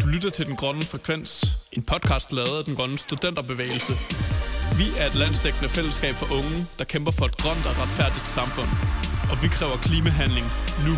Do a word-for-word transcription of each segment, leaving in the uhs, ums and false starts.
lytter til Den Grønne Frekvens, en podcast lavet af Den Grønne Studenterbevægelse. Vi er et landsdækkende fællesskab for unge, der kæmper for et grønt og retfærdigt samfund. Og vi kræver klimahandling nu.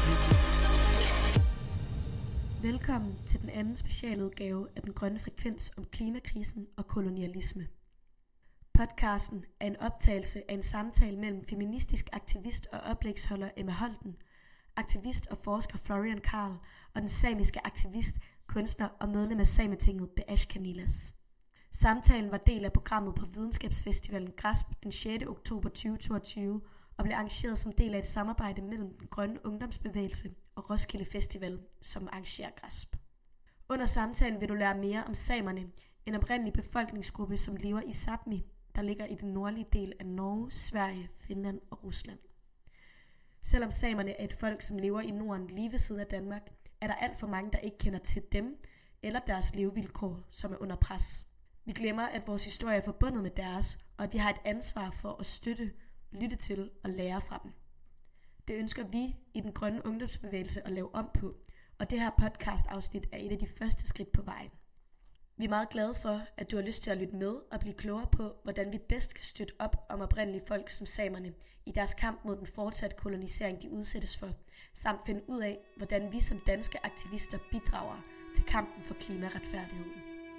Velkommen til den anden specialudgave af Den Grønne Frekvens om klimakrisen og kolonialisme. Podcasten er en optagelse af en samtale mellem feministisk aktivist og oplægsholder Emma Holten, aktivist og forsker Florian Karl og den samiske aktivist, kunstner og medlem af Sametinget Beash Kanilas. Samtalen var del af programmet på Videnskabsfestivalen Grasp den sjette oktober tyve toogtyve og blev arrangeret som del af et samarbejde mellem den grønne ungdomsbevægelse og Roskilde Festival, som arrangerer Grasp. Under samtalen vil du lære mere om samerne, en oprindelig befolkningsgruppe, som lever i Sápmi, der ligger i den nordlige del af Norge, Sverige, Finland og Rusland. Selvom samerne er et folk, som lever i Norden lige ved siden af Danmark, er der alt for mange, der ikke kender til dem eller deres levevilkår, som er under pres. Vi glemmer, at vores historie er forbundet med deres, og at vi har et ansvar for at støtte, lytte til og lære fra dem. Det ønsker vi i den grønne ungdomsbevægelse at lave om på, og det her podcast-afsnit er et af de første skridt på vejen. Vi er meget glade for, at du har lyst til at lytte med og blive klogere på, hvordan vi bedst kan støtte op om oprindelige folk som samerne i deres kamp mod den fortsatte kolonisering, de udsættes for, samt finde ud af, hvordan vi som danske aktivister bidrager til kampen for klimaretfærdigheden.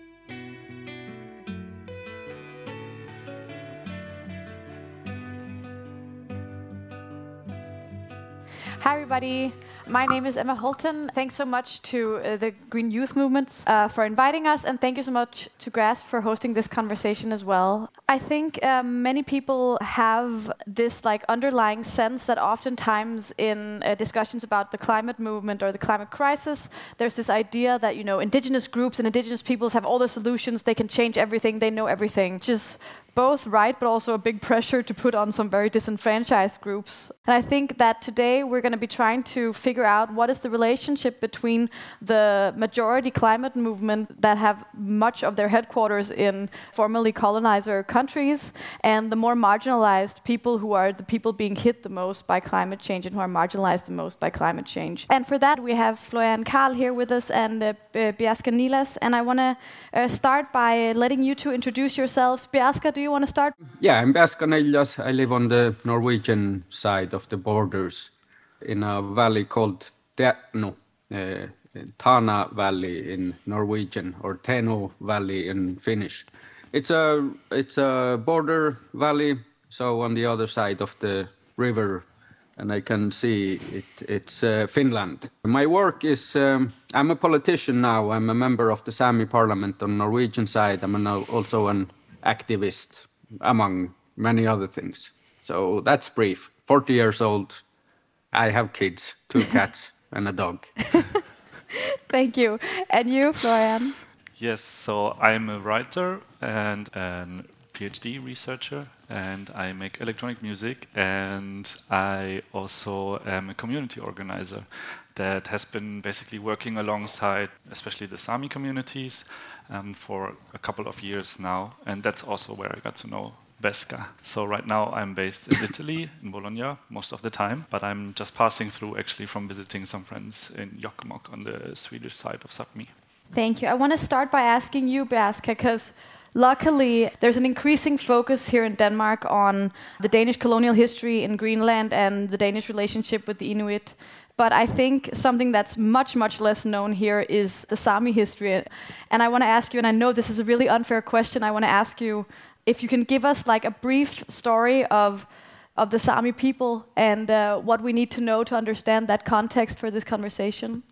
Hi everybody, my name is Emma Holten. Thanks so much to uh, the Green Youth Movements uh, for inviting us, and thank you so much to Grasp for hosting this conversation as well. I think uh, many people have this like underlying sense that oftentimes in uh, discussions about the climate movement or the climate crisis, there's this idea that, you know, indigenous groups and indigenous peoples have all the solutions, they can change everything, they know everything, which is both right, but also a big pressure to put on some very disenfranchised groups. And I think that today we're going to be trying to figure out what is the relationship between the majority climate movement that have much of their headquarters in formerly colonizer countries and the more marginalized people who are the people being hit the most by climate change and who are marginalized the most by climate change. And for that we have Florian Karl here with us and uh, Beash Kanilas. And I want to uh, start by letting you two introduce yourselves. Beash, do you want to start? Yeah, I'm Beash Kanilas. I live on the Norwegian side of the borders in a valley called Teno, uh, Tana Valley in Norwegian, or Teno Valley in Finnish. It's a it's a border valley, so on the other side of the river, and I can see it. It's uh, Finland. My work is um, I'm a politician now. I'm a member of the Sami Parliament on Norwegian side. I'm an, also an activist, among many other things. So that's brief. forty years old. I have kids, two cats and a dog. Thank you. And you, Florian? Yes, so I'm a writer and a PhD researcher, and I make electronic music, and I also am a community organizer that has been basically working alongside especially the Sami communities um, for a couple of years now, and that's also where I got to know Beska. So right now I'm based in Italy, in Bologna, most of the time, but I'm just passing through actually from visiting some friends in Jokkmokk on the Swedish side of Sápmi. Thank you. I want to start by asking you, Beash, because luckily there's an increasing focus here in Denmark on the Danish colonial history in Greenland and the Danish relationship with the Inuit. But I think something that's much, much less known here is the Sami history. And I want to ask you, and I know this is a really unfair question, I want to ask you if you can give us like a brief story of of the Sami people and uh, what we need to know to understand that context for this conversation.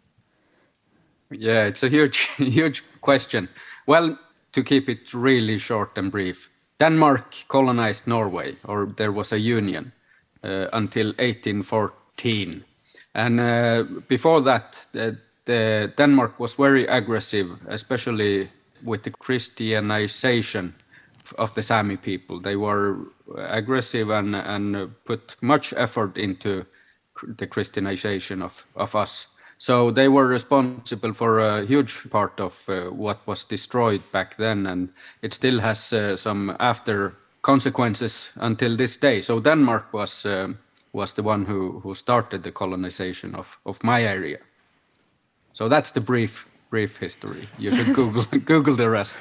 Yeah, it's a huge, huge question. Well, to keep it really short and brief, Denmark colonized Norway, or there was a union, uh, until eighteen fourteen. And uh, before that, the, the Denmark was very aggressive, especially with the Christianization of the Sami people. They were aggressive and, and put much effort into the Christianization of, of us. So they were responsible for a huge part of uh, what was destroyed back then, and it still has uh, some after consequences until this day. So Denmark was uh, was the one who, who started the colonization of, of my area. So that's the brief brief history. You should Google Google the rest.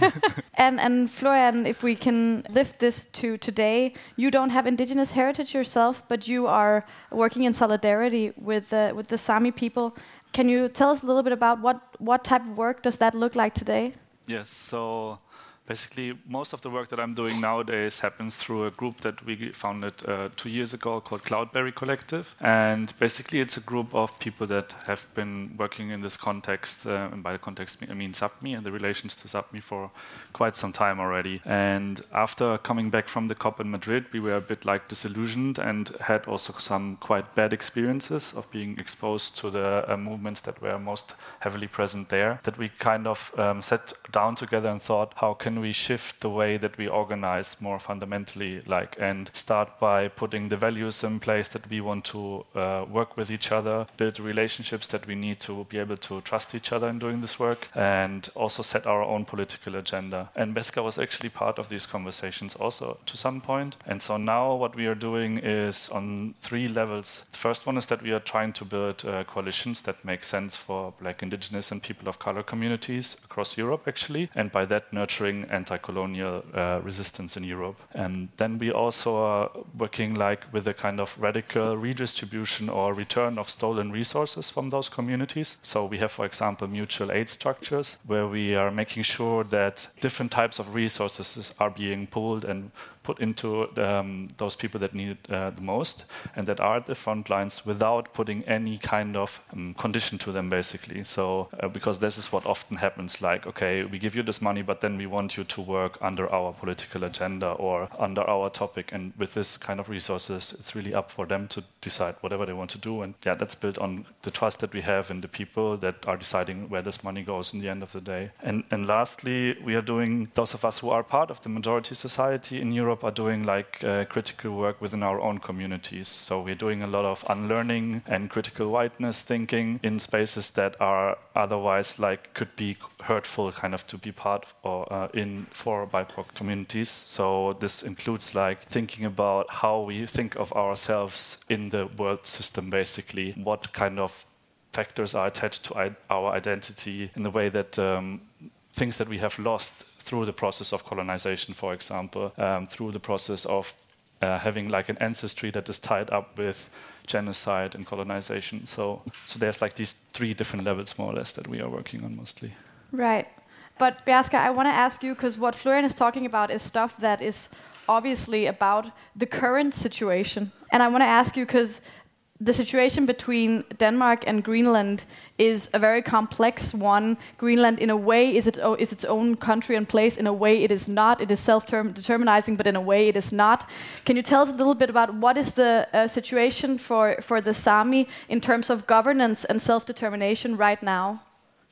and and Florian, if we can lift this to today, you don't have indigenous heritage yourself, but you are working in solidarity with uh, with the Sami people. Can you tell us a little bit about what what type of work does that look like today? Yes, so basically most of the work that I'm doing nowadays happens through a group that we founded uh, two years ago called Cloudberry Collective. And basically it's a group of people that have been working in this context, uh, and by the context I mean Sapmi and the relations to Sapmi for quite some time already. And after coming back from the COP in Madrid, we were a bit like disillusioned and had also some quite bad experiences of being exposed to the uh, movements that were most heavily present there, that we kind of um, sat down together and thought, how can we shift the way that we organize more fundamentally, like, and start by putting the values in place that we want to uh, work with each other, build relationships that we need to be able to trust each other in doing this work, and also set our own political agenda. And Beska was actually part of these conversations also to some point. And so now what we are doing is on three levels. The first one is that we are trying to build uh, coalitions that make sense for Black, Indigenous and people of color communities across Europe, actually, and by that nurturing anti-colonial uh, resistance in Europe. And then we also are working like with a kind of radical redistribution or return of stolen resources from those communities. So we have, for example, mutual aid structures where we are making sure that different types of resources are being pooled and put into um, those people that need it uh, the most and that are at the front lines without putting any kind of um, condition to them, basically. So uh, because this is what often happens, like, okay, we give you this money, but then we want you to work under our political agenda or under our topic. And with this kind of resources, it's really up for them to decide whatever they want to do. And yeah, that's built on the trust that we have in the people that are deciding where this money goes in the end of the day. And, and lastly, we are doing, those of us who are part of the majority society in Europe are doing like uh, critical work within our own communities. So we're doing a lot of unlearning and critical whiteness thinking in spaces that are otherwise like could be hurtful kind of to be part of or uh, in for B I P O C communities. So this includes like thinking about how we think of ourselves in the world system, basically, what kind of factors are attached to I- our identity in the way that um, things that we have lost through the process of colonization, for example, um, through the process of uh, having like an ancestry that is tied up with genocide and colonization. So, so there's like these three different levels, more or less, that we are working on mostly. Right. But Beaska, I want to ask you, because what Florian is talking about is stuff that is obviously about the current situation. And I want to ask you, because the situation between Denmark and Greenland is a very complex one. Greenland, in a way, is, it, is its own country and place. In a way, it is not. It is self-determinizing, but in a way, it is not. Can you tell us a little bit about what is the uh, situation for, for the Sami in terms of governance and self-determination right now?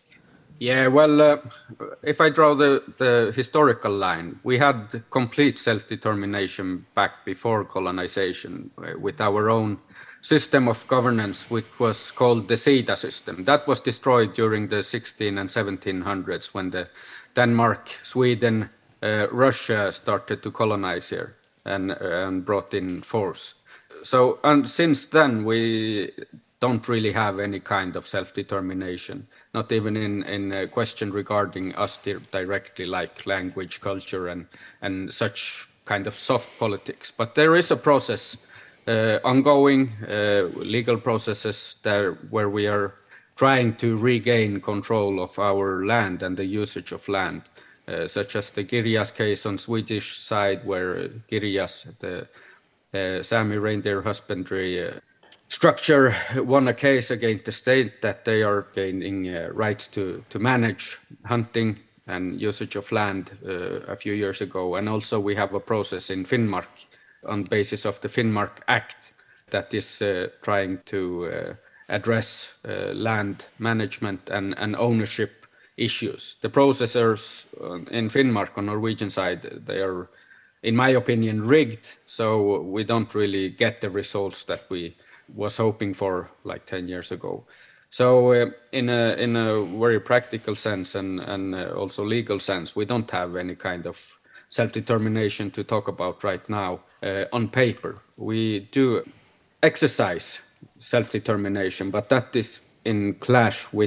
Yeah, well, uh, if I draw the, the historical line, we had complete self-determination back before colonization uh, with our own system of governance, which was called the Sida system. That was destroyed during the sixteen and seventeen hundreds when the Denmark, Sweden, uh, Russia started to colonize here and, uh, and brought in force. So, and since then, we don't really have any kind of self-determination, not even in, in a question regarding us directly, like language, culture, and, and such kind of soft politics. But there is a process Uh, ongoing uh, legal processes there where we are trying to regain control of our land and the usage of land, uh, such as the Girjas case on Swedish side, where uh, Girjas, the uh, Sami reindeer husbandry uh, structure, won a case against the state that they are gaining uh, rights to, to manage hunting and usage of land uh, a few years ago. And also we have a process in Finnmark on basis of the Finnmark Act that is uh, trying to uh, address uh, land management and, and ownership issues. The processors in Finnmark on Norwegian side, they are, in my opinion, rigged, so we don't really get the results that we was hoping for like ten years ago. So uh, in a in a very practical sense and, and uh, also legal sense, we don't have any kind of self-determination to talk about right now uh, on paper. We do exercise self-determination, but that is in clash with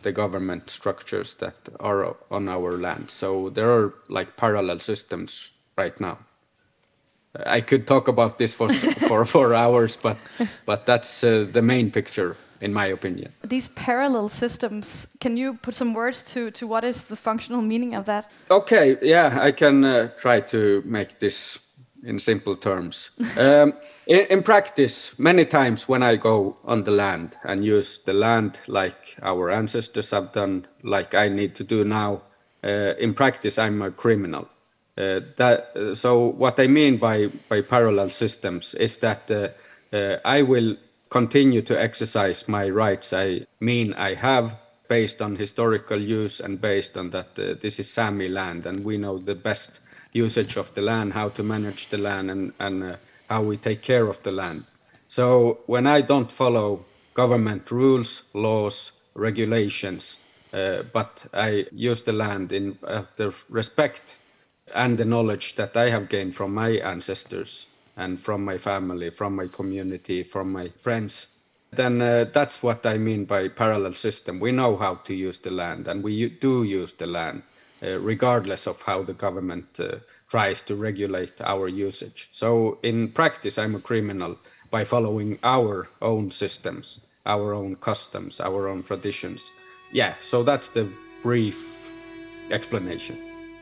the government structures that are on our land. So there are like parallel systems right now. I could talk about this for for four hours, but but that's uh, the main picture, in my opinion. These parallel systems, can you put some words to, to what is the functional meaning of that? Okay, yeah, I can uh, try to make this in simple terms. um, in, in practice, many times when I go on the land and use the land like our ancestors have done, like I need to do now, uh, in practice I'm a criminal. Uh, that uh, so what I mean by, by parallel systems is that uh, uh, I will continue to exercise my rights I mean I have based on historical use and based on that uh, this is Sami land and we know the best usage of the land, how to manage the land and, and uh, how we take care of the land. So when I don't follow government rules, laws, regulations, uh, but I use the land in uh, the respect and the knowledge that I have gained from my ancestors and from my family, from my community, from my friends, then uh, that's what I mean by parallel system. We know how to use the land and we do use the land, uh, regardless of how the government uh, tries to regulate our usage. So in practice, I'm a criminal by following our own systems, our own customs, our own traditions. Yeah, so that's the brief explanation.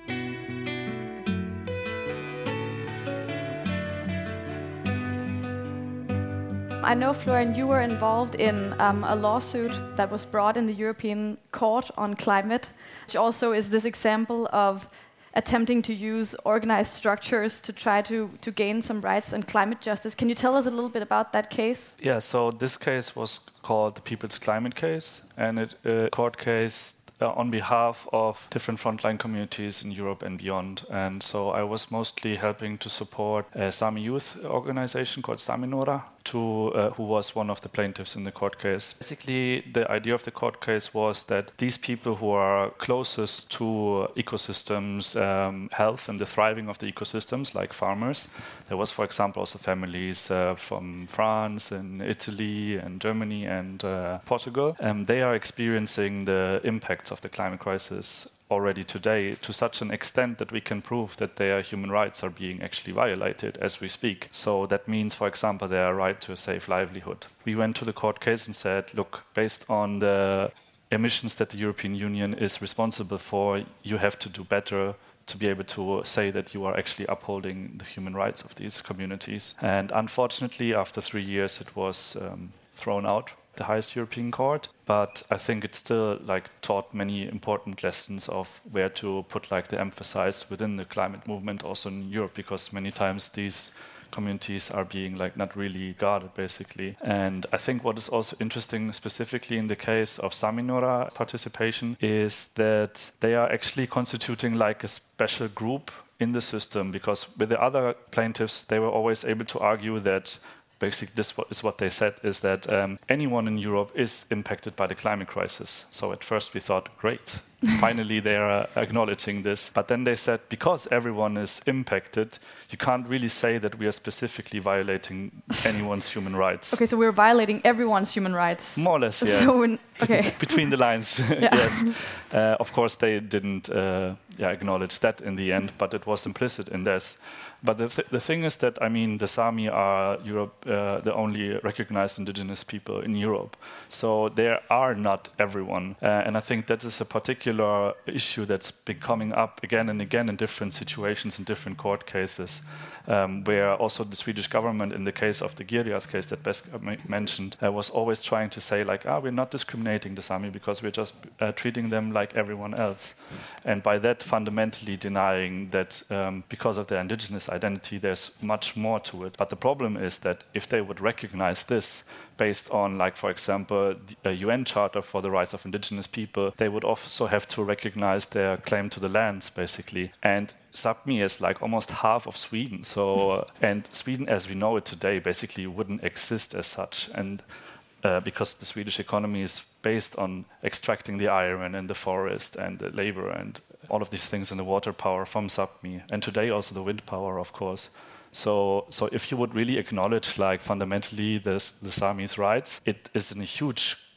I know, Florian, you were involved in um, a lawsuit that was brought in the European Court on climate, which also is this example of attempting to use organized structures to try to, to gain some rights and climate justice. Can you tell us a little bit about that case? Yeah, so this case was called the People's Climate Case, and it a uh, court case uh, on behalf of different frontline communities in Europe and beyond. And so I was mostly helping to support a Sami youth organization called Sami Nora, to, uh, who was one of the plaintiffs in the court case. Basically, the idea of the court case was that these people who are closest to ecosystems, um, health and the thriving of the ecosystems, like farmers, there was, for example, also families uh, from France and Italy and Germany and uh, Portugal, and they are experiencing the impacts of the climate crisis already today to such an extent that we can prove that their human rights are being actually violated as we speak. So that means, for example, their right to a safe livelihood. We went to the court case and said, look, based on the emissions that the European Union is responsible for, you have to do better to be able to say that you are actually upholding the human rights of these communities. And unfortunately, after three years, it was um, thrown out, the highest European court, but I think it still like taught many important lessons of where to put like the emphasis within the climate movement also in Europe, because many times these communities are being like not really guarded basically. And I think what is also interesting specifically in the case of Sami Nora participation is that they are actually constituting like a special group in the system, because with the other plaintiffs they were always able to argue that basically this is what they said, is that um, anyone in Europe is impacted by the climate crisis. So at first we thought, great, finally they are acknowledging this. But then they said, because everyone is impacted, you can't really say that we are specifically violating anyone's human rights. Okay, so we're violating everyone's human rights. More or less, yeah. So we're, okay. Between the lines, yes. Uh, of course, they didn't uh, yeah, acknowledge that in the end, but it was implicit in this. But the, th the thing is that, I mean, the Sami are Europe, uh, the only recognized indigenous people in Europe. So there are not everyone. Uh, and I think that is a particular issue that's been coming up again and again in different situations, in different court cases, um, where also the Swedish government, in the case of the Girjas case that Beskar mentioned, uh, was always trying to say, like, ah, we're not discriminating the Sami because we're just uh, treating them like everyone else. And by that, fundamentally denying that um, because of their indigenous identity, there's much more to it. But the problem is that if they would recognize this based on, like, for example, a U N Charter for the Rights of Indigenous People, they would also have to recognize their claim to the lands, basically. And Sapmi is like almost half of Sweden. So, uh, and Sweden, as we know it today, basically wouldn't exist as such. And uh, because the Swedish economy is based on extracting the iron and the forest and the labor and all of these things and the water power from Sapmi, and today also the wind power, of course. So, so if you would really acknowledge, like, fundamentally this, the Sami's rights, it is a huge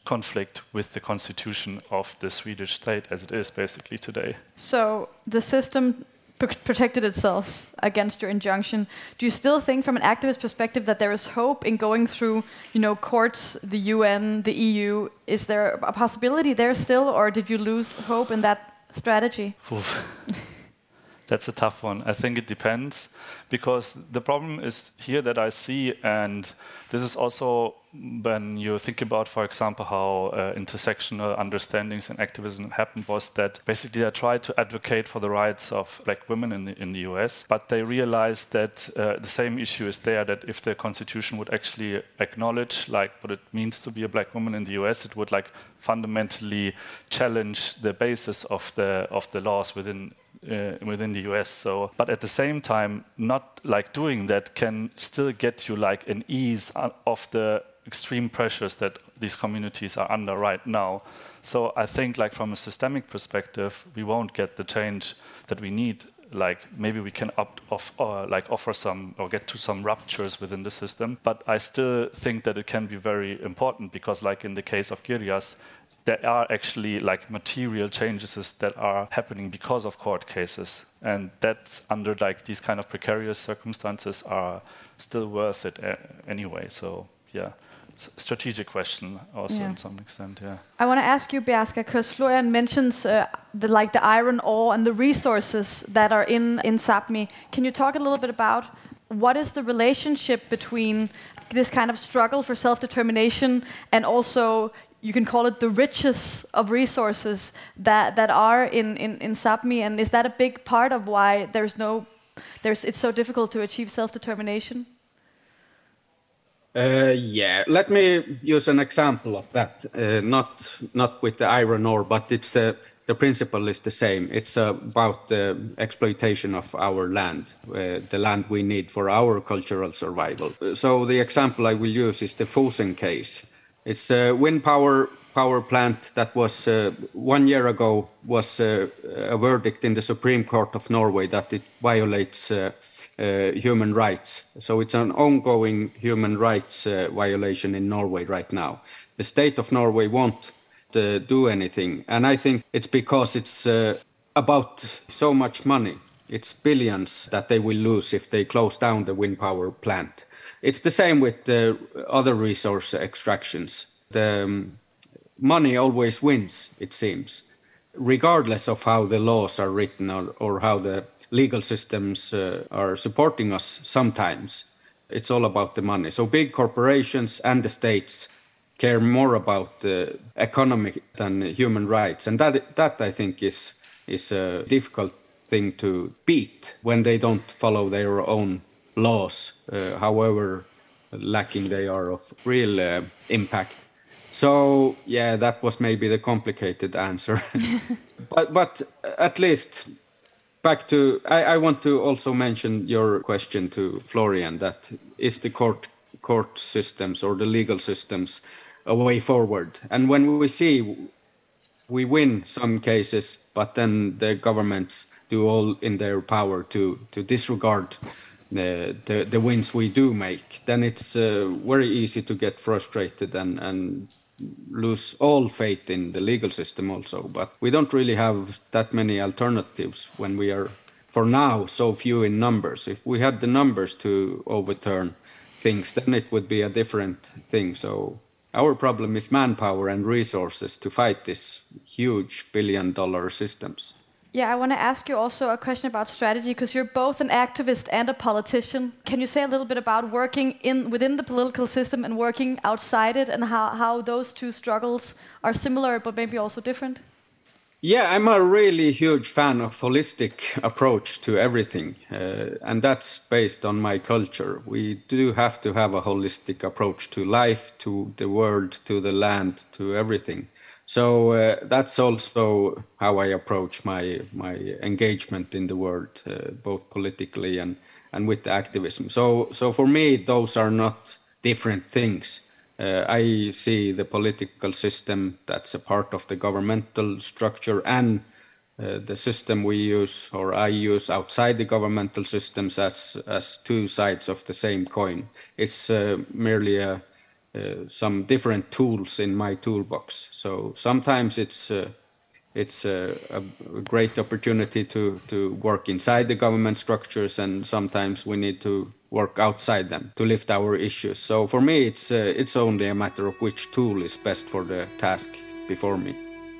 conflict with the constitution of the Swedish state as it is basically today. So the system pr- protected itself against your injunction. Do you still think from an activist perspective that there is hope in going through, you know, courts, the U N, the E U? Is there a possibility there still, or did you lose hope in that strategy? That's a tough one. I think it depends, because the problem is here that I see, and this is also when you think about, for example, how uh, intersectional understandings and activism happened, was that basically they tried to advocate for the rights of black women in the, in the U S, but they realized that uh, the same issue is there, that if the constitution would actually acknowledge like what it means to be a black woman in the U S, it would like fundamentally challenge the basis of the of the laws within Uh, within the U S. So, but at the same time, not like doing that can still get you like an ease of the extreme pressures that these communities are under right now. So I think like from a systemic perspective, we won't get the change that we need. Like maybe we can opt off or like offer some or get to some ruptures within the system. But I still think that it can be very important, because like in the case of Girjas, there are actually like material changes that are happening because of court cases, and that's under like these kind of precarious circumstances are still worth it uh, anyway. So yeah, it's a strategic question also yeah. in some extent. Yeah. I want to ask you, Bjarke, because Florian mentions uh, the like the iron ore and the resources that are in in Sápmi. Can you talk a little bit about what is the relationship between this kind of struggle for self-determination and also, you can call it, the riches of resources that, that are in, in, in Sápmi, and is that a big part of why there's no, there's it's so difficult to achieve self-determination? Uh, yeah, let me use an example of that. Uh, not not with the iron ore, but it's the the principle is the same. It's uh, about the exploitation of our land, uh, the land we need for our cultural survival. So the example I will use is the Fosen case. It's a wind power power plant that was uh, one year ago was uh, a verdict in the Supreme Court of Norway that it violates uh, uh, human rights. So it's an ongoing human rights uh, violation in Norway right now. The state of Norway won't uh, do anything, and I think it's because it's uh, about so much money. It's billions that they will lose if they close down the wind power plant. It's the same with the other resource extractions. The um, money always wins, it seems, regardless of how the laws are written or, or how the legal systems uh, are supporting us sometimes. It's all about the money. So big corporations and the states care more about the economy than human rights. And that, that I think, is, is a difficult thing to beat when they don't follow their own laws, uh, however lacking they are of real uh, impact. So yeah, that was maybe the complicated answer. but but at least back to, I, I want to also mention your question to Florian, that is the court court systems or the legal systems a way forward? And when we see we win some cases, but then the governments do all in their power to to disregard The, the the wins we do make, then it's uh, very easy to get frustrated and, and lose all faith in the legal system also. But we don't really have that many alternatives when we are, for now, so few in numbers. If we had the numbers to overturn things, then it would be a different thing. So our problem is manpower and resources to fight these huge billion dollar systems. Yeah, I want to ask you also a question about strategy, because you're both an activist and a politician. Can you say a little bit about working in within the political system and working outside it, and how, how those two struggles are similar but maybe also different? Yeah, I'm a really huge fan of holistic approach to everything, uh, and that's based on my culture. We do have to have a holistic approach to life, to the world, to the land, to everything. So uh, that's also how I approach my my engagement in the world, uh, both politically and, and with the activism. So so for me, those are not different things. Uh, I see the political system that's a part of the governmental structure, and uh, the system we use, or I use outside the governmental systems, as as two sides of the same coin. It's uh, merely a uh, some different tools in my toolbox. So sometimes it's uh, it's uh, a, a great opportunity to to work inside the government structures, and sometimes we need to work outside them to lift our issues. So for me, it's uh, it's only a matter of which tool is best for the task before me.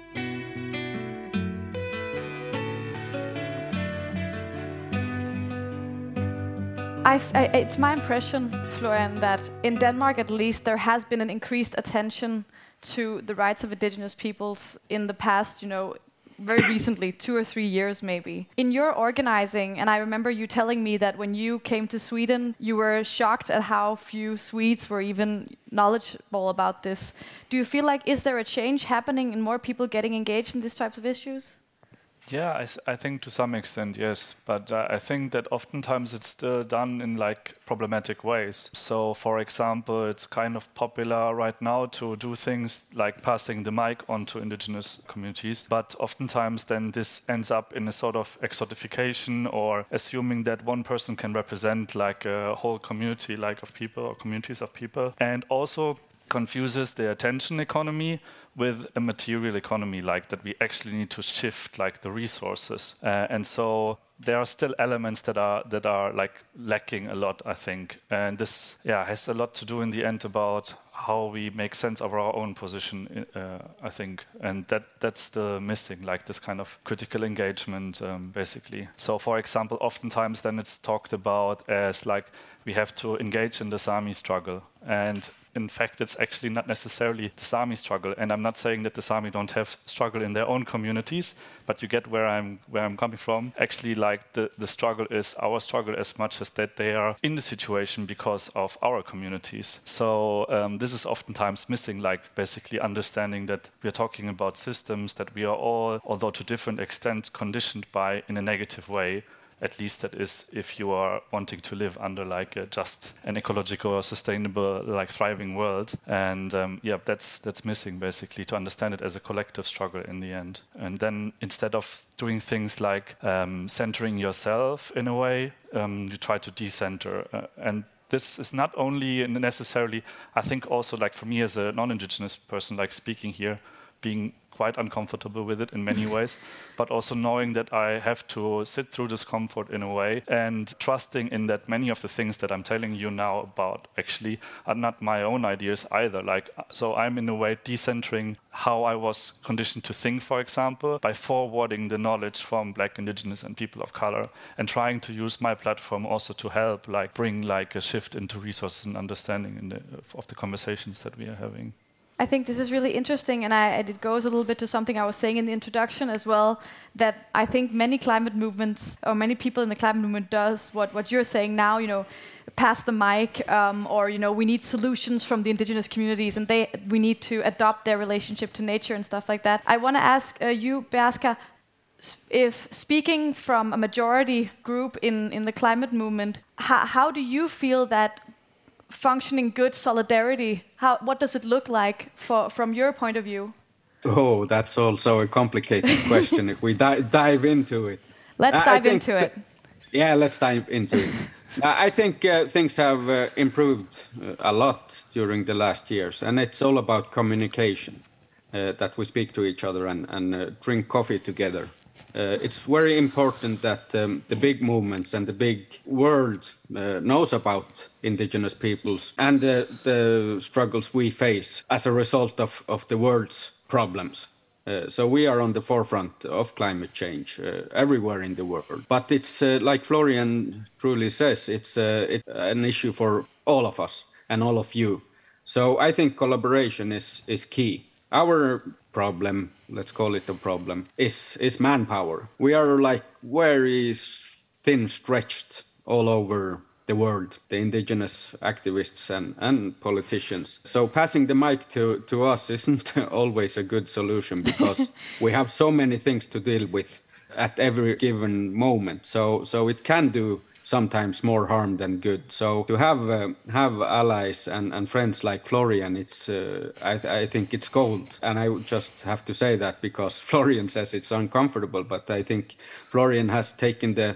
I've, I, it's my impression, Florian, that in Denmark at least there has been an increased attention to the rights of indigenous peoples in the past, you know, very recently, two or three years maybe. In your organizing, and I remember you telling me that when you came to Sweden, you were shocked at how few Swedes were even knowledgeable about this. Do you feel like, is there a change happening and more people getting engaged in these types of issues? Yeah, I, s- I think to some extent, yes. But uh, I think that oftentimes it's still done in like problematic ways. So, for example, it's kind of popular right now to do things like passing the mic on to indigenous communities. But oftentimes then this ends up in a sort of exotification or assuming that one person can represent like a whole community like of people or communities of people. And also confuses the attention economy with a material economy, like that we actually need to shift like the resources, uh, and so there are still elements that are that are like lacking a lot, I think, and this yeah has a lot to do in the end about how we make sense of our own position, uh, I think, and that that's the missing, like this kind of critical engagement, um, basically. So, for example, oftentimes then it's talked about as like we have to engage in the Sami struggle, and in fact, it's actually not necessarily the Sami struggle, and I'm not saying that the Sami don't have struggle in their own communities, but you get where I'm where I'm coming from. Actually, like the, the struggle is our struggle as much as that they are in the situation because of our communities. So um, this is oftentimes missing, like basically understanding that we are talking about systems that we are all, although to different extent, conditioned by in a negative way. At least that is if you are wanting to live under like a just an ecological or sustainable, like thriving world. And um, yeah, that's that's missing basically, to understand it as a collective struggle in the end. And then instead of doing things like um, centering yourself in a way, um, you try to decenter. Uh, and this is not only necessarily, I think also like for me as a non-Indigenous person, like speaking here, being quite uncomfortable with it in many ways, but also knowing that I have to sit through discomfort in a way and trusting in that many of the things that I'm telling you now about actually are not my own ideas either. Like, so I'm in a way decentering how I was conditioned to think, for example, by forwarding the knowledge from Black, Indigenous and people of color, and trying to use my platform also to help like bring like a shift into resources and understanding in the, of the conversations that we are having. I think this is really interesting, and, I, and it goes a little bit to something I was saying in the introduction as well, that I think many climate movements, or many people in the climate movement does what, what you're saying now, you know, pass the mic, um, or, you know, we need solutions from the indigenous communities, and they we need to adopt their relationship to nature and stuff like that. I want to ask uh, you, Beaska, if speaking from a majority group in, in the climate movement, how, how do you feel that functioning good solidarity, how, what does it look like for, from your point of view? Oh, that's also a complicated question. If we di- dive into it. Let's I, dive I into it. Yeah, let's dive into it. I think uh, things have uh, improved uh, a lot during the last years, and it's all about communication, uh, that we speak to each other and, and uh, drink coffee together. Uh, it's very important that um, the big movements and the big world uh, knows about indigenous peoples and the, the struggles we face as a result of, of the world's problems. Uh, so we are on the forefront of climate change uh, everywhere in the world. But it's uh, like Florian truly says, it's uh, it, an issue for all of us and all of you. So I think collaboration is, is key. Our problem, let's call it a problem, is is manpower. We are like very thin stretched all over the world, the indigenous activists and, and politicians. So passing the mic to, to us isn't always a good solution because we have so many things to deal with at every given moment. So so it can do sometimes more harm than good. So to have uh, have allies and, and friends like Florian, it's uh, I, th- I think it's gold. And I would just have to say that because Florian says it's uncomfortable, but I think Florian has taken the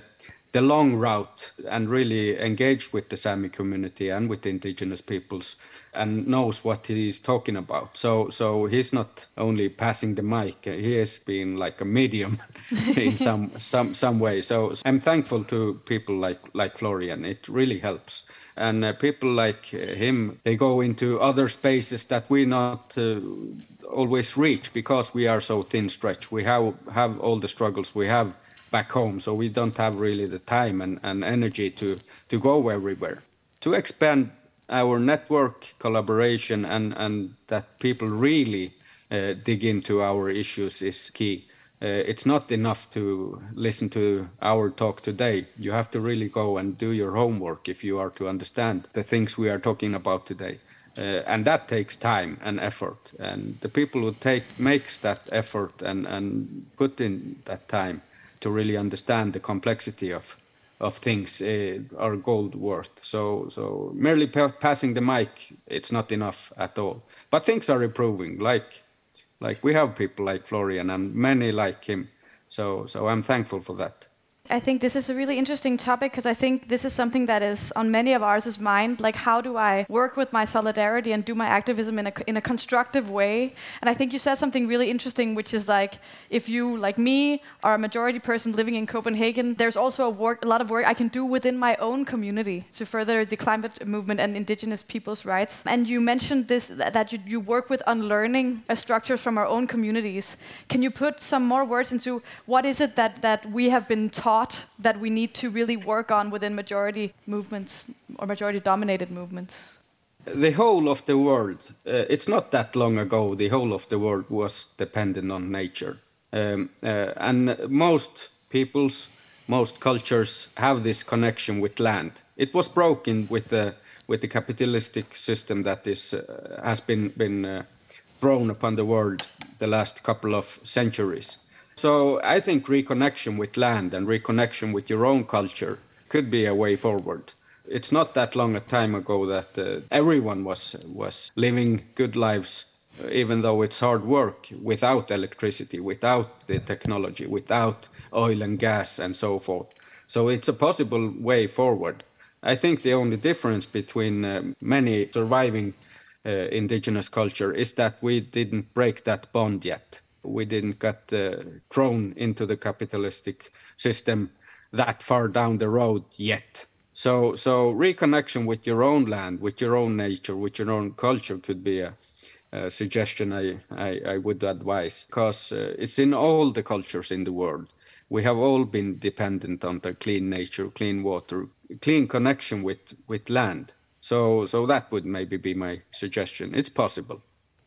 the long route and really engaged with the Sami community and with the indigenous peoples and knows what he is talking about. So so he's not only passing the mic, he has been like a medium in some some some way. So I'm thankful to people like like Florian. It really helps. And uh, people like him, they go into other spaces that we not uh, always reach because we are so thin-stretched. We have have all the struggles we have back home, so we don't have really the time and, and energy to, to go everywhere. To expand our network collaboration and, and that people really uh, dig into our issues is key. Uh, it's not enough to listen to our talk today. You have to really go and do your homework if you are to understand the things we are talking about today. Uh, and that takes time and effort. And the people who take makes that effort and, and put in that time to really understand the complexity of of things uh, are gold worth. So so merely pa- passing the mic, it's not enough at all. But things are improving. Like like we have people like Florian and many like him. So so I'm thankful for that. I think this is a really interesting topic because I think this is something that is on many of ours' mind. Like, how do I work with my solidarity and do my activism in a in a constructive way? And I think you said something really interesting, which is like, if you, like me, are a majority person living in Copenhagen, there's also a, work, a lot of work I can do within my own community to further the climate movement and indigenous people's rights. And you mentioned this, that you, you work with unlearning uh, structures from our own communities. Can you put some more words into what is it that, that we have been taught that we need to really work on within majority movements or majority-dominated movements? The whole of the world, uh, it's not that long ago, the whole of the world was dependent on nature. Um, uh, and most peoples, most cultures have this connection with land. It was broken with the with the capitalistic system that is uh, has been been uh, thrown upon the world the last couple of centuries. So I think reconnection with land and reconnection with your own culture could be a way forward. It's not that long a time ago that uh, everyone was was living good lives, uh, even though it's hard work, without electricity, without the technology, without oil and gas and so forth. So it's a possible way forward. I think the only difference between uh, many surviving uh, indigenous culture is that we didn't break that bond yet. We didn't get uh, thrown into the capitalistic system that far down the road yet. So, so reconnection with your own land, with your own nature, with your own culture could be a, a suggestion I, I, I would advise, because uh, it's in all the cultures in the world. We have all been dependent on the clean nature, clean water, clean connection with, with land. So, so that would maybe be my suggestion. It's possible.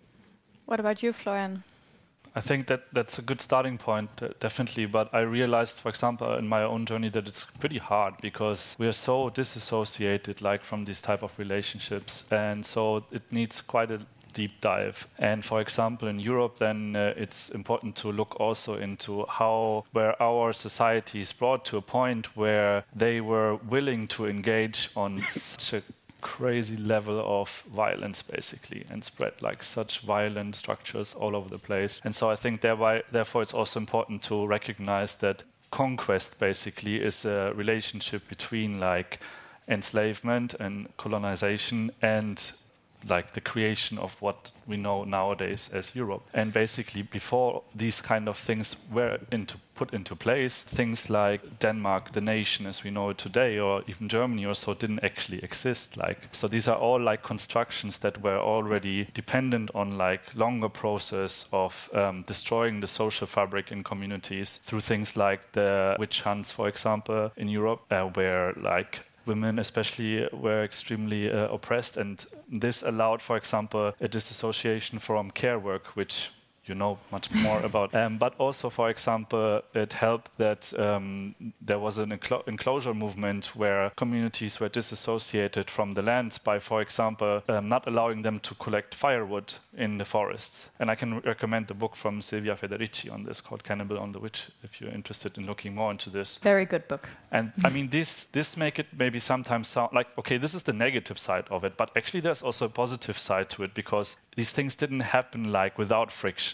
What about you, Florian? I think that that's a good starting point, uh, definitely. But I realized, for example, in my own journey that it's pretty hard because we are so disassociated, like, from these type of relationships. And so it needs quite a deep dive. And for example, in Europe, then uh, it's important to look also into how, where our society is brought to a point where they were willing to engage on such a crazy level of violence, basically, and spread like such violent structures all over the place. And so I think thereby, therefore it's also important to recognize that conquest basically is a relationship between like enslavement and colonization and like the creation of what we know nowadays as Europe. And basically before these kind of things were into put into place, things like Denmark, the nation as we know it today, or even Germany or so, didn't actually exist. Like, so these are all like constructions that were already dependent on like longer process of um, destroying the social fabric in communities through things like the witch hunts, for example, in Europe, uh, where like women especially were extremely uh, oppressed, and this allowed, for example, a disassociation from care work, which you know much more about. Um, but also, for example, it helped that um, there was an enclo- enclosure movement where communities were disassociated from the lands by, for example, um, not allowing them to collect firewood in the forests. And I can recommend the book from Silvia Federici on this called Cannibal on the Witch, if you're interested in looking more into this. Very good book. And I mean, this this make it maybe sometimes sound like, okay, this is the negative side of it, but actually there's also a positive side to it, because these things didn't happen like without friction.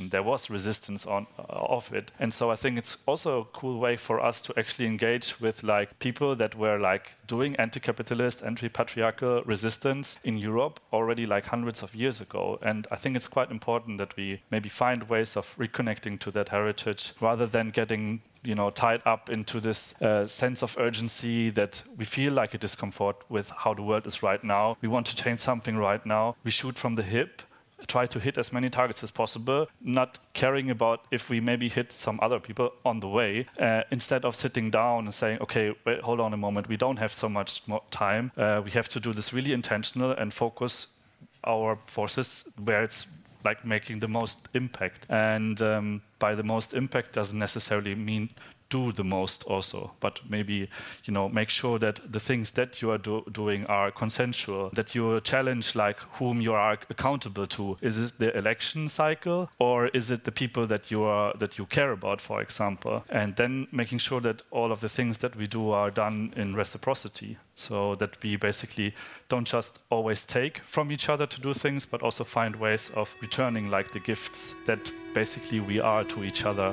opposition. There was resistance on uh, of it. And so I think it's also a cool way for us to actually engage with like people that were like doing anti-capitalist, anti-patriarchal resistance in Europe already like hundreds of years ago. And I think it's quite important that we maybe find ways of reconnecting to that heritage rather than getting you know, tied up into this uh, sense of urgency that we feel like a discomfort with how the world is right now. We want to change something right now. We shoot from the hip, try to hit as many targets as possible, not caring about if we maybe hit some other people on the way, uh, instead of sitting down and saying, okay, wait, hold on a moment, we don't have so much more time. Uh, we have to do this really intentional and focus our forces where it's like making the most impact. And um, by the most impact doesn't necessarily mean do the most also, but maybe, you know, make sure that the things that you are do doing are consensual, that you challenge like whom you are accountable to. Is it the election cycle or is it the people that you are that you care about, for example? And then making sure that all of the things that we do are done in reciprocity, so that we basically don't just always take from each other to do things, but also find ways of returning like the gifts that basically we are to each other.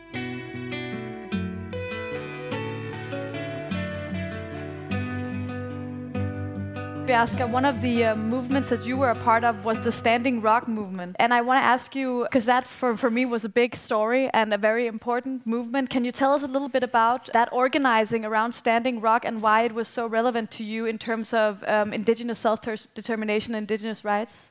Bjarke, one of the uh, movements that you were a part of was the Standing Rock movement. And I want to ask you, because that for, for me was a big story and a very important movement. Can you tell us a little bit about that organizing around Standing Rock and why it was so relevant to you in terms of um, indigenous self-determination and indigenous rights?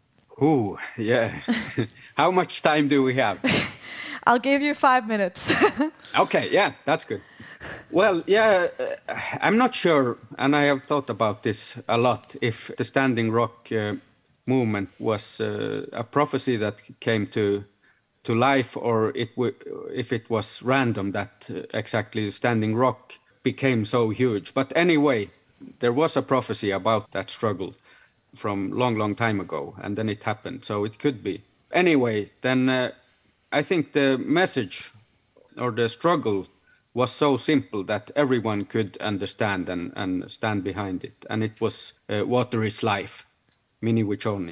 Ooh, yeah. How much time do we have? I'll give you five minutes. Okay, yeah, that's good. Well, yeah, uh, I'm not sure, and I have thought about this a lot, if the Standing Rock uh, movement was uh, a prophecy that came to to life, or it w if it was random that uh, exactly Standing Rock became so huge. But anyway, there was a prophecy about that struggle from long, long time ago, and then it happened, so it could be. Anyway, then uh, I think the message or the struggle was so simple that everyone could understand and, and stand behind it. And it was uh, water is life, mini wichoni,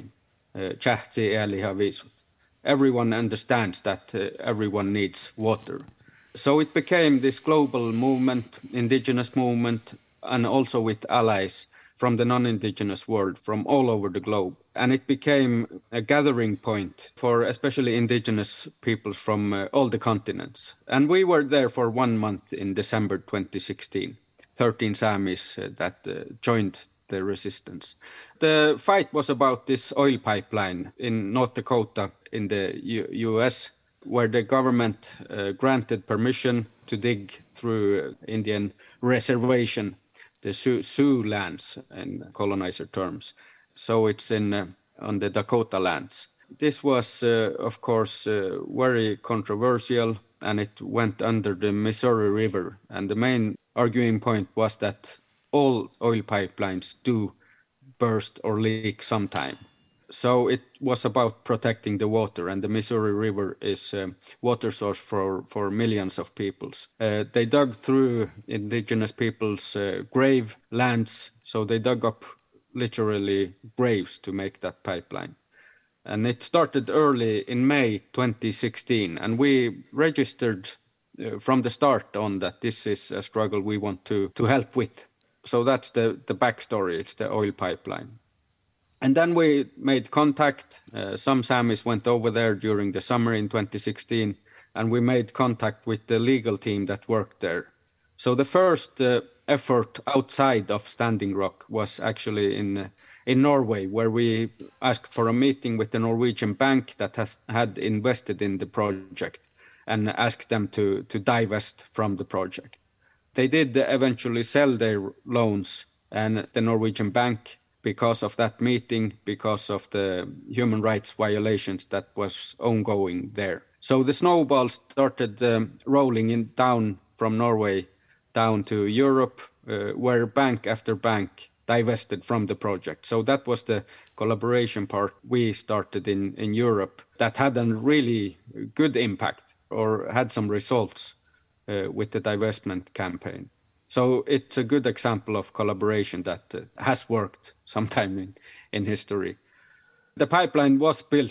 chahti eli havisut. Everyone understands that uh, everyone needs water. So it became this global movement, indigenous movement, and also with allies from the non-indigenous world, from all over the globe. And it became a gathering point for especially indigenous peoples from uh, all the continents. And we were there for one month in December twenty sixteen, thirteen Samis uh, that uh, joined the resistance. The fight was about this oil pipeline in North Dakota in the U U.S., where the government uh, granted permission to dig through uh, Indian reservation, the Sioux, Sioux lands in colonizer terms. So it's in uh, on the Dakota lands. This was, uh, of course, uh, very controversial, and it went under the Missouri River. And the main arguing point was that all oil pipelines do burst or leak sometime. So it was about protecting the water, and the Missouri River is a water source for, for millions of peoples. Uh, they dug through indigenous people's uh, grave lands, so they dug up literally graves to make that pipeline. And it started early in May twenty sixteen, and we registered uh, from the start on that this is a struggle we want to, to help with. So that's the, the backstory, it's the oil pipeline. And then we made contact. Uh, some Samis went over there during the summer in twenty sixteen, and we made contact with the legal team that worked there. So the first uh, effort outside of Standing Rock was actually in uh, in Norway, where we asked for a meeting with the Norwegian bank that has had invested in the project and asked them to, to divest from the project. They did eventually sell their loans, and the Norwegian bank, because of that meeting, because of the human rights violations that was ongoing there. So the snowball started um, rolling in down from Norway down to Europe, uh, where bank after bank divested from the project. So that was the collaboration part we started in, in Europe that had a really good impact or had some results uh, with the divestment campaign. So it's a good example of collaboration that uh, has worked sometime in, in history. The pipeline was built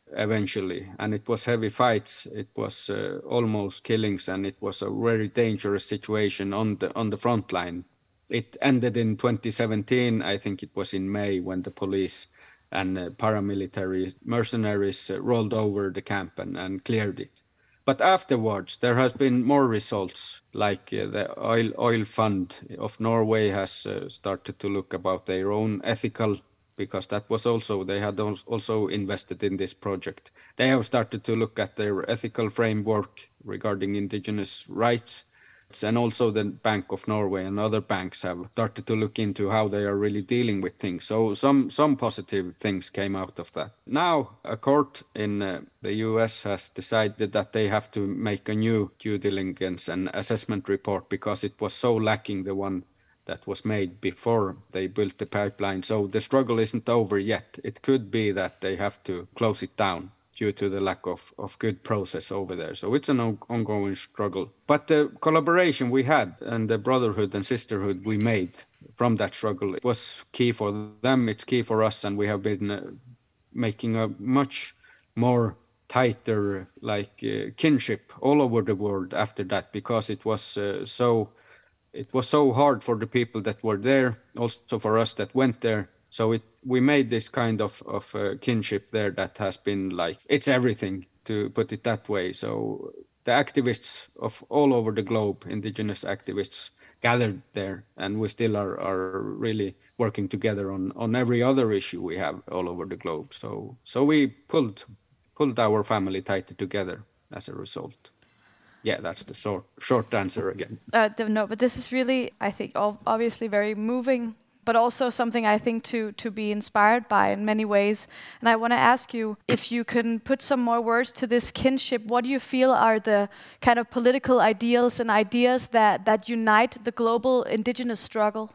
eventually, and it was heavy fights. It was uh, almost killings, and it was a very dangerous situation on the on the front line. It ended in twenty seventeen, I think it was in May, when the police and uh, paramilitary mercenaries uh, rolled over the camp and, and cleared it. But afterwards, there has been more results, like uh, the oil oil fund of Norway has uh, started to look about their own ethical, because that was also, they had also invested in this project. They have started to look at their ethical framework regarding indigenous rights. And also the Bank of Norway and other banks have started to look into how they are really dealing with things. So some some positive things came out of that. Now a court in uh, the U S has decided that they have to make a new due diligence and assessment report, because it was so lacking, the one that was made before they built the pipeline. So the struggle isn't over yet. It could be that they have to close it down due to the lack of, of good process over there. So it's an on- ongoing struggle. But the collaboration we had and the brotherhood and sisterhood we made from that struggle, it was key for them, it's key for us, and we have been uh, making a much more tighter like uh, kinship all over the world after that, because it was uh, so it was so hard for the people that were there, also for us that went there. So it, we made this kind of, of uh, kinship there that has been like, it's everything, to put it that way. So the activists of all over the globe, indigenous activists, gathered there, and we still are, are really working together on, on every other issue we have all over the globe. So so we pulled pulled our family tighter together as a result. Yeah, that's the short, short answer again. Uh, th- no, but this is really, I think, ob- obviously very moving, but also something I think to, to be inspired by in many ways. And I want to ask you if you can put some more words to this kinship. What do you feel are the kind of political ideals and ideas that, that unite the global indigenous struggle?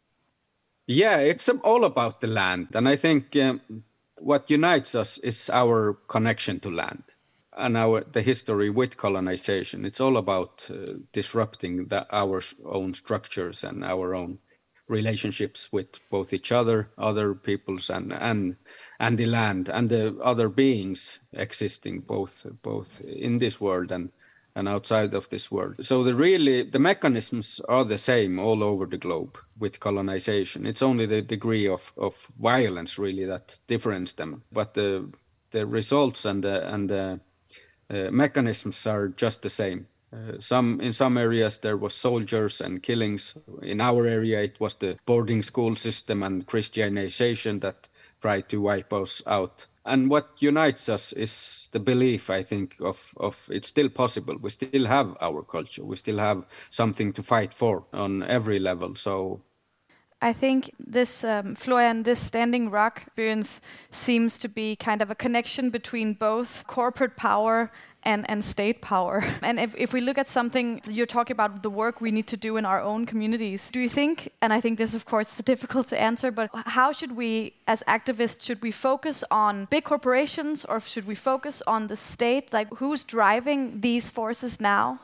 Yeah, it's all about the land. And I think um, what unites us is our connection to land and our the history with colonization. It's all about uh, disrupting the, our own structures and our own relationships with both each other, other peoples, and and and the land and the other beings existing both both in this world and and outside of this world. So the really the mechanisms are the same all over the globe with colonization. It's only the degree of of violence really that differentiates them, but the the results and the and the uh, mechanisms are just the same. Uh, some in some areas there was soldiers and killings. In our area it was the boarding school system and Christianization that tried to wipe us out. And what unites us is the belief, I think, of, of it's still possible. We still have our culture. We still have something to fight for on every level. So I think this, um, Florian, this Standing Rock experience seems to be kind of a connection between both corporate power and, and state power. And if, if we look at something, you're talking about the work we need to do in our own communities. Do you think, and I think this, of course, is difficult to answer, but how should we, as activists, should we focus on big corporations or should we focus on the state? Like, who's driving these forces now?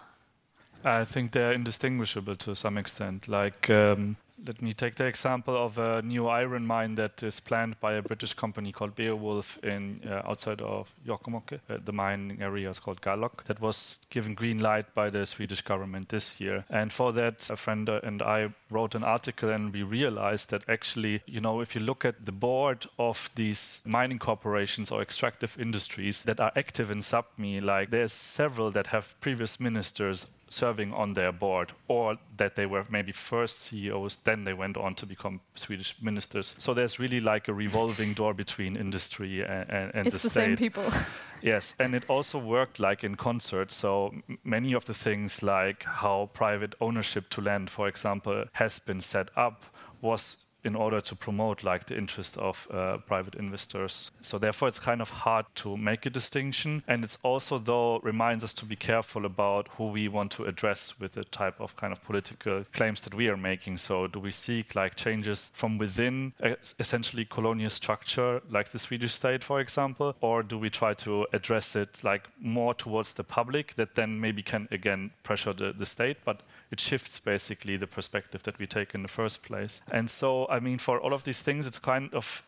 I think they're indistinguishable to some extent. Like, um, let me take the example of a new iron mine that is planned by a British company called Beowulf in uh, outside of Jokkmokk. Uh, the mining area is called Gállok. That was given green light by the Swedish government this year. And for that, a friend and I wrote an article, and we realized that actually, you know, if you look at the board of these mining corporations or extractive industries that are active in Sápmi, like there's several that have previous ministers serving on their board, or that they were maybe first C E Os, then they went on to become Swedish ministers. So there's really like a revolving door between industry and, and, and the it's the state. Same people. Yes, and it also worked like in concert. So m- many of the things like how private ownership to land, for example, has been set up was in order to promote like the interest of uh, private investors. So therefore it's kind of hard to make a distinction. And it's also though reminds us to be careful about who we want to address with the type of kind of political claims that we are making. So do we seek like changes from within a, essentially colonial structure like the Swedish state, for example, or do we try to address it like more towards the public that then maybe can again pressure the, the state, but it shifts basically the perspective that we take in the first place. And so, I mean, for all of these things, it's kind of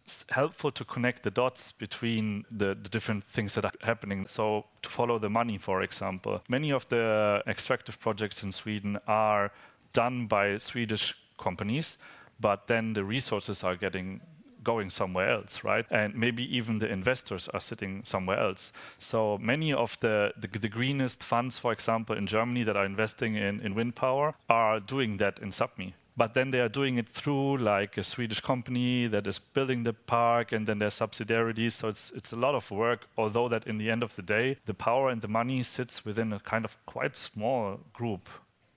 it's helpful to connect the dots between the, the different things that are happening. So to follow the money, for example, many of the extractive projects in Sweden are done by Swedish companies, but then the resources are getting going somewhere else, right? And maybe even the investors are sitting somewhere else. So many of the, the, the greenest funds, for example, in Germany that are investing in, in wind power are doing that in Sapmi. But then they are doing it through like a Swedish company that is building the park, and then there's subsidiaries. So it's it's a lot of work, although that in the end of the day, the power and the money sits within a kind of quite small group.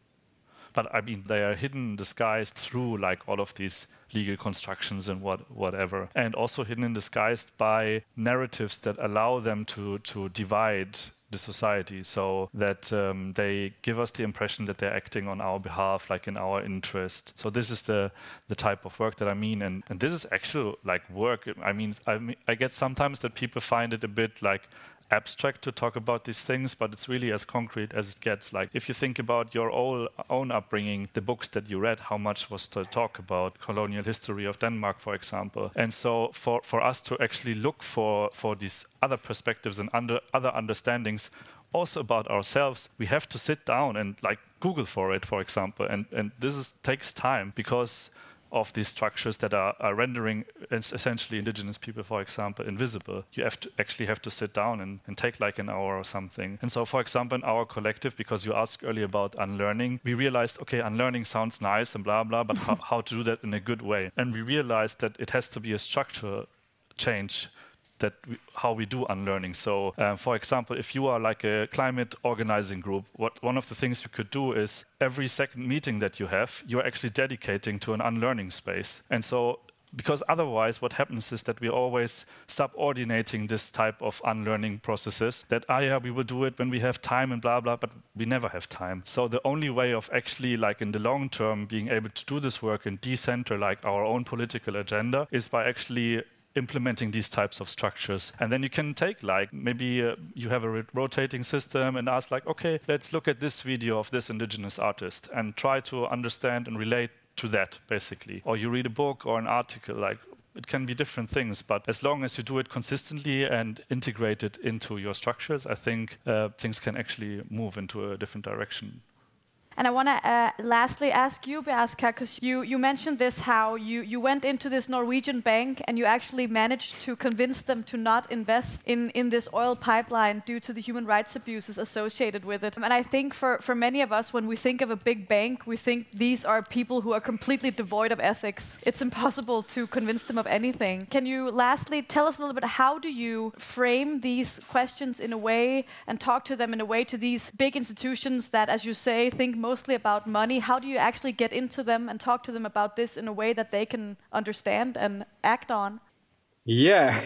But I mean, they are hidden, disguised through like all of these legal constructions and what whatever, and also hidden and disguised by narratives that allow them to to divide the society, so that um, they give us the impression that they're acting on our behalf, like in our interest. So this is the the type of work that I mean, and, and this is actual like work. I mean, I mean, I get sometimes that people find it a bit like abstract to talk about these things, but it's really as concrete as it gets. Like if you think about your own, own upbringing, the books that you read, how much was to talk about colonial history of Denmark, for example. And so for, for us to actually look for, for these other perspectives and under, other understandings also about ourselves, we have to sit down and like Google for it, for example. And, and this is, takes time because of these structures that are, are rendering essentially indigenous people, for example, invisible. You have to actually have to sit down and, and take like an hour or something. And so, for example, in our collective, because you asked earlier about unlearning, we realized, okay, unlearning sounds nice and blah, blah, but how, how to do that in a good way. And we realized that it has to be a structural change that we, how we do unlearning. So, uh, for example, if you are like a climate organizing group, what one of the things you could do is every second meeting that you have, you're actually dedicating to an unlearning space. And so, because otherwise what happens is that we're always subordinating this type of unlearning processes, that, ah, yeah, we will do it when we have time and blah, blah, but we never have time. So the only way of actually, like in the long term, being able to do this work and decenter like our own political agenda is by actually implementing these types of structures. And then you can take like, maybe uh, you have a rotating system and ask like, okay, let's look at this video of this indigenous artist and try to understand and relate to that, basically. Or you read a book or an article, like it can be different things, but as long as you do it consistently and integrate it into your structures, I think uh, things can actually move into a different direction. And I want to uh, lastly ask you, Beaska, because you, you mentioned this, how you, you went into this Norwegian bank and you actually managed to convince them to not invest in, in this oil pipeline due to the human rights abuses associated with it. And I think for, for many of us, when we think of a big bank, we think these are people who are completely devoid of ethics. It's impossible to convince them of anything. Can you lastly tell us a little bit, how do you frame these questions in a way and talk to them in a way to these big institutions that, as you say, think mostly about money? How do you actually get into them and talk to them about this in a way that they can understand and act on? Yeah,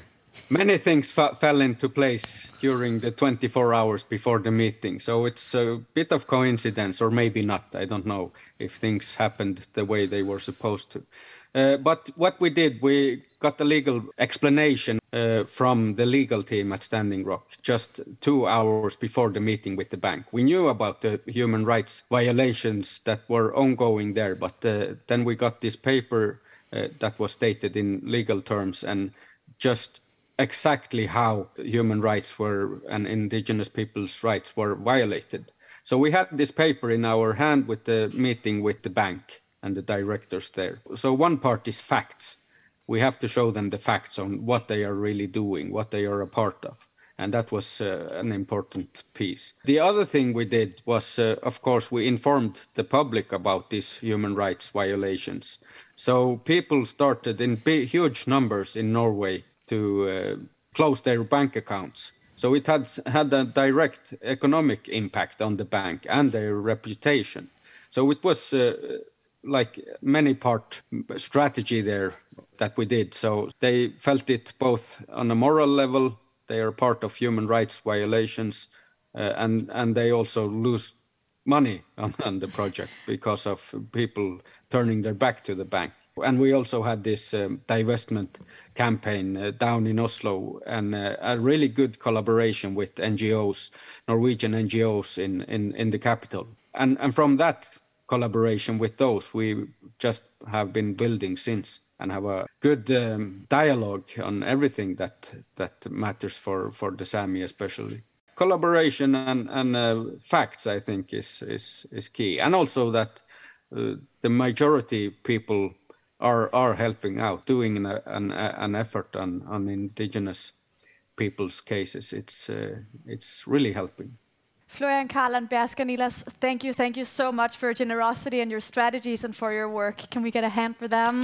many things fa- fell into place during the twenty-four hours before the meeting. So it's a bit of coincidence, or maybe not. I don't know if things happened the way they were supposed to. Uh, but what we did, we got a legal explanation uh, from the legal team at Standing Rock just two hours before the meeting with the bank. We knew about the human rights violations that were ongoing there, but uh, then we got this paper uh, that was stated in legal terms and just exactly how human rights were and indigenous people's rights were violated. So we had this paper in our hand with the meeting with the bank and the directors there. So one part is facts. We have to show them the facts on what they are really doing, what they are a part of. And that was uh, an important piece. The other thing we did was, uh, of course, we informed the public about these human rights violations. So people started in big, huge numbers in Norway to uh, close their bank accounts. So it had had a direct economic impact on the bank and their reputation. So it was uh, like many part strategy there that we did. So they felt it both on a moral level, they are part of human rights violations, uh, and, and they also lose money on, on the project because of people turning their back to the bank. And we also had this um, divestment campaign uh, down in Oslo, and uh, a really good collaboration with N G Os, Norwegian N G Os in, in, in the capital. And, and from that collaboration with those, we just have been building since. and have a good um, dialogue on everything that that matters for, for the Sami especially. Collaboration and, and uh, facts, I think, is, is, is key. And also that uh, the majority people are are helping out, doing an, an, an effort on, on indigenous people's cases. It's, uh, it's really helping. Florian, Karl, and Berska-Niilas, thank you, thank you so much for your generosity and your strategies and for your work. Can we get a hand for them?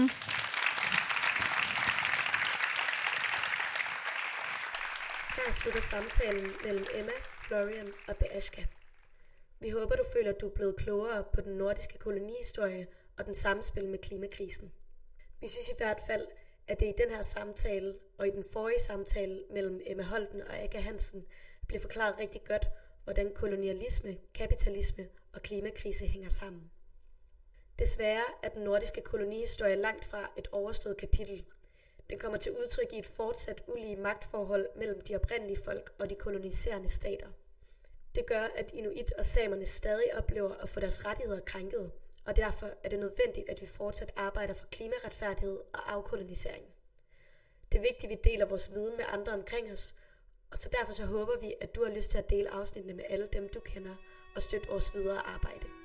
Her slutter samtalen mellem Emma, Florian og Berska. Vi håber, du føler, at du er blevet klogere på den nordiske kolonihistorie og den samspil med klimakrisen. Vi synes i hvert fald, at det i den her samtale og i den forrige samtale mellem Emma Holten og Aga Hansen blev forklaret rigtig godt, hvordan kolonialisme, kapitalisme og klimakrise hænger sammen. Desværre er den nordiske kolonihistorie langt fra et overstået kapitel. Den kommer til udtryk i et fortsat ulige magtforhold mellem de oprindelige folk og de koloniserende stater. Det gør, at inuit og samerne stadig oplever at få deres rettigheder krænket, og derfor er det nødvendigt, at vi fortsat arbejder for klimaretfærdighed og afkolonisering. Det er vigtigt, at vi deler vores viden med andre omkring os, og så derfor så håber vi, at du har lyst til at dele afsnittene med alle dem, du kender, og støtte vores videre arbejde.